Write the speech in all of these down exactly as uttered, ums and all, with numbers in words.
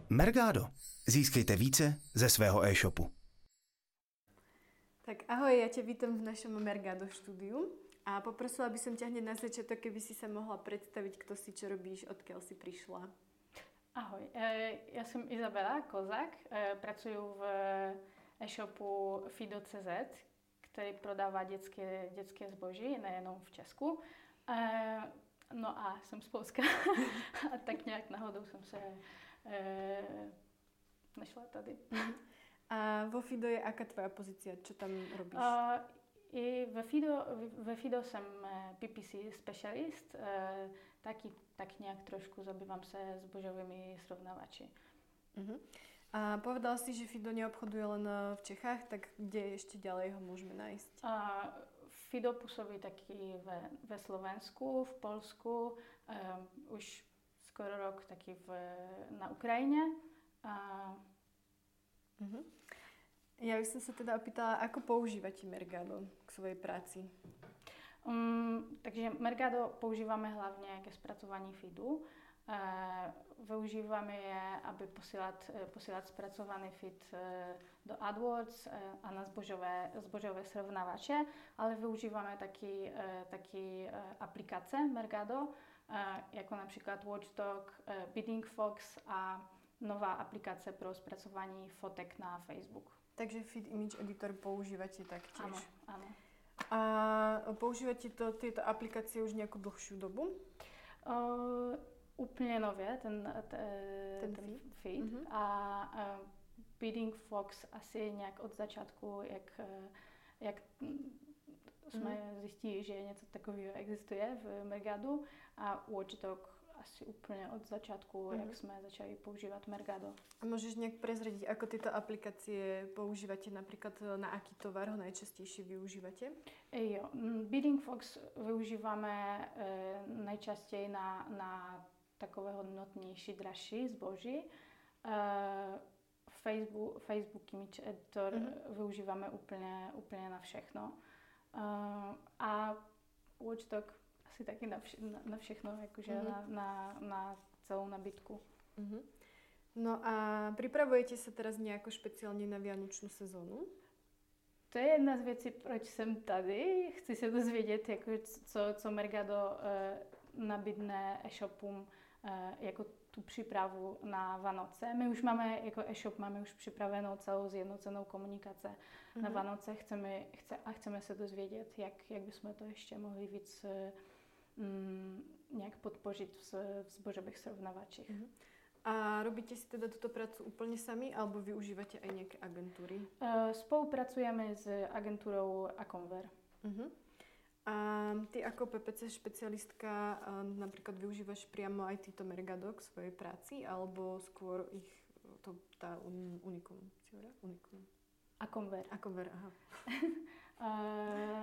Mergado. Získejte více ze svého e-shopu. Tak ahoj, ja ťa vítam v našom Mergado štúdiu a poprosila by som ťa hneď na začiatok, keby si sa mohla predstaviť, kto si, čo robíš, odkiaľ si prišla. Ahoj, ja som Izabela Kozák, pracuju v e-shopu Fido tečka cé zet, ktorý prodáva detské, detské zboží, nejenom v Česku. No a som z Polska a tak nejak náhodou som sa e, našla tady. A vo Fido je aká tvoja pozícia? Čo tam robíš? Uh, i ve Fido, ve Fido jsem P P C specialist, uh, taky tak nějak trošku zabývám se zbožovými srovnávači. Uh-huh. A povedal si, že Fido neobchoduje len v Čechách, tak kde ešte ďalej ho môžeme nájsť? Uh, Fido působí taky ve, ve Slovensku, v Polsku, um, už skoro rok taky v, na Ukrajině. Uh, uh-huh. Ja by som sa teda opýtala, ako používate Mergado k svojej práci? Um, takže Mergado používáme hlavně ke zpracování feedu. Uh, využíváme je, aby posílat, posílat zpracovaný feed uh, do AdWords uh, a na zbožové, zbožové srovnávače, ale využíváme taky, uh, taky uh, aplikace Mergado, uh, jako například Watchdog, uh, Bidding Fox a nová aplikace pro zpracování fotek na Facebook. Takže Feed Image Editor používate taktiež? Áno, áno. A používate to, tieto aplikácie už nejakú dlhšiu dobu? Uh, úplne nově, ten, te, ten, ten feed. feed. Uh-huh. A uh, Bidding Fox asi nějak od začátku, jak, jak jsme uh-huh. zjistili, že něco takového existuje v Mergadu, a Watchdog asi úplne od začiatku, uh-huh. jak sme začali používať Mergado. A môžeš nejak prezradiť, ako tieto aplikácie používate, napríklad na aký tovar ho najčastejšie využívate? E, jo, Bidding Fox využíváme e, najčastěji na, na takové hodnotnější, dražší zboží. E, Facebook, Facebook Image Editor uh-huh. využíváme úplně, úplně na všechno. E, a Watchdog asi taky na, vše, na, na všechno, jakože uh-huh. na, na, na celou nabídku. Uh-huh. No a pripravujete sa teraz nejako špeciálne na vianočnú sezónu? To je jedna z věcí, proč jsem tady. Chci se dozvědět, jako, co, co Mergado eh, nabídne e-shopům eh, jako tu přípravu na Vánoce. My už máme, jako e-shop, máme už připravenou celou zjednocenou komunikace uh-huh. na Vánoce. Chceme, chce, a chceme se dozvědět, jak, jak bychom to ještě mohli víc eh, mm, nějak podpořit v, v zbožových srovnávačích. Uh-huh. A robíte si teda túto prácu úplne sami, alebo využívate aj nejaké agentúry? Uh, spolupracujeme s agentúrou Aconver. Uh-huh. A ty ako P P C špecialistka uh, napríklad využívaš priamo aj týto Mergado k svojej práci, alebo skôr ich, to, tá un, Unicum, Unicum? Aconver. Aconver, aha. uh,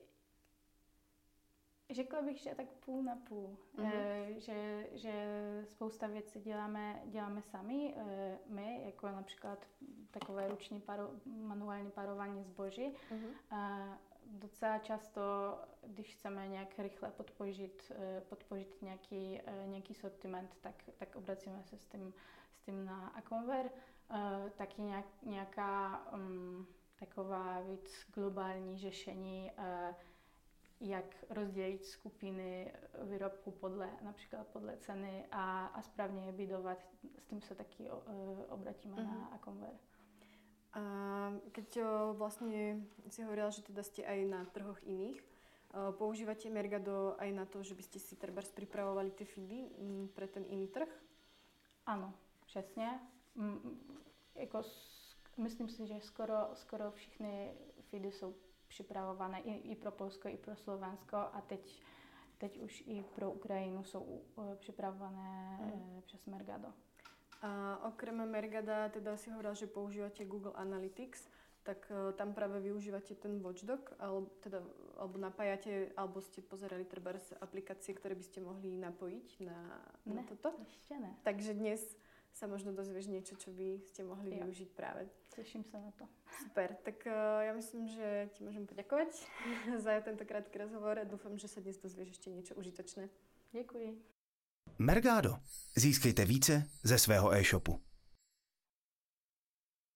Řekla bych, že tak půl na půl, mm-hmm. e, že, že spousta věcí děláme, děláme sami, e, my, jako například takové ruční paro, manuální parování zboží. Mm-hmm. E, docela často, když chceme nějak rychle podpořit, e, podpořit nějaký, e, nějaký sortiment, tak, tak obracíme se s tím, s tím na Aconver. E, taky nějak, nějaká um, taková víc globální řešení, e, jak rozdělit skupiny výrobků podle, například podle ceny a, a správně je bidovat. S tím se taky o, obratíme uh-huh. na Aconver. A keď vlastne si hovorila, že teda ste aj na trhoch iných, používate Mergado aj na to, že by ste si trebárs pripravovali tie feedy pre ten iný trh? Ano, přesně. Jako, myslím si, že skoro, skoro všechny feedy jsou připravované i, i pro Polsko, i pro Slovensko, a teď, teď už i pro Ukrajinu jsou uh, připravované mm. uh, přes Mergado. A okrem Mergada teda si hovorila, že používate Google Analytics, tak uh, tam práve využívate ten Watchdog, alebo, teda, alebo napájate, alebo ste pozerali trebárs aplikácie, ktoré by ste mohli napojiť na, na ne, toto? Ešte ne. Takže dnes sa možno dozvieš niečo, čo by ste mohli jo. využiť práve. Teším sa na to. Super, tak uh, ja myslím, že ti môžem poďakovať za tento krátky rozhovor a dúfam, že sa dnes dozvieš ešte niečo užitočné. Děkuji. Mergado. Získejte více ze svého e-shopu.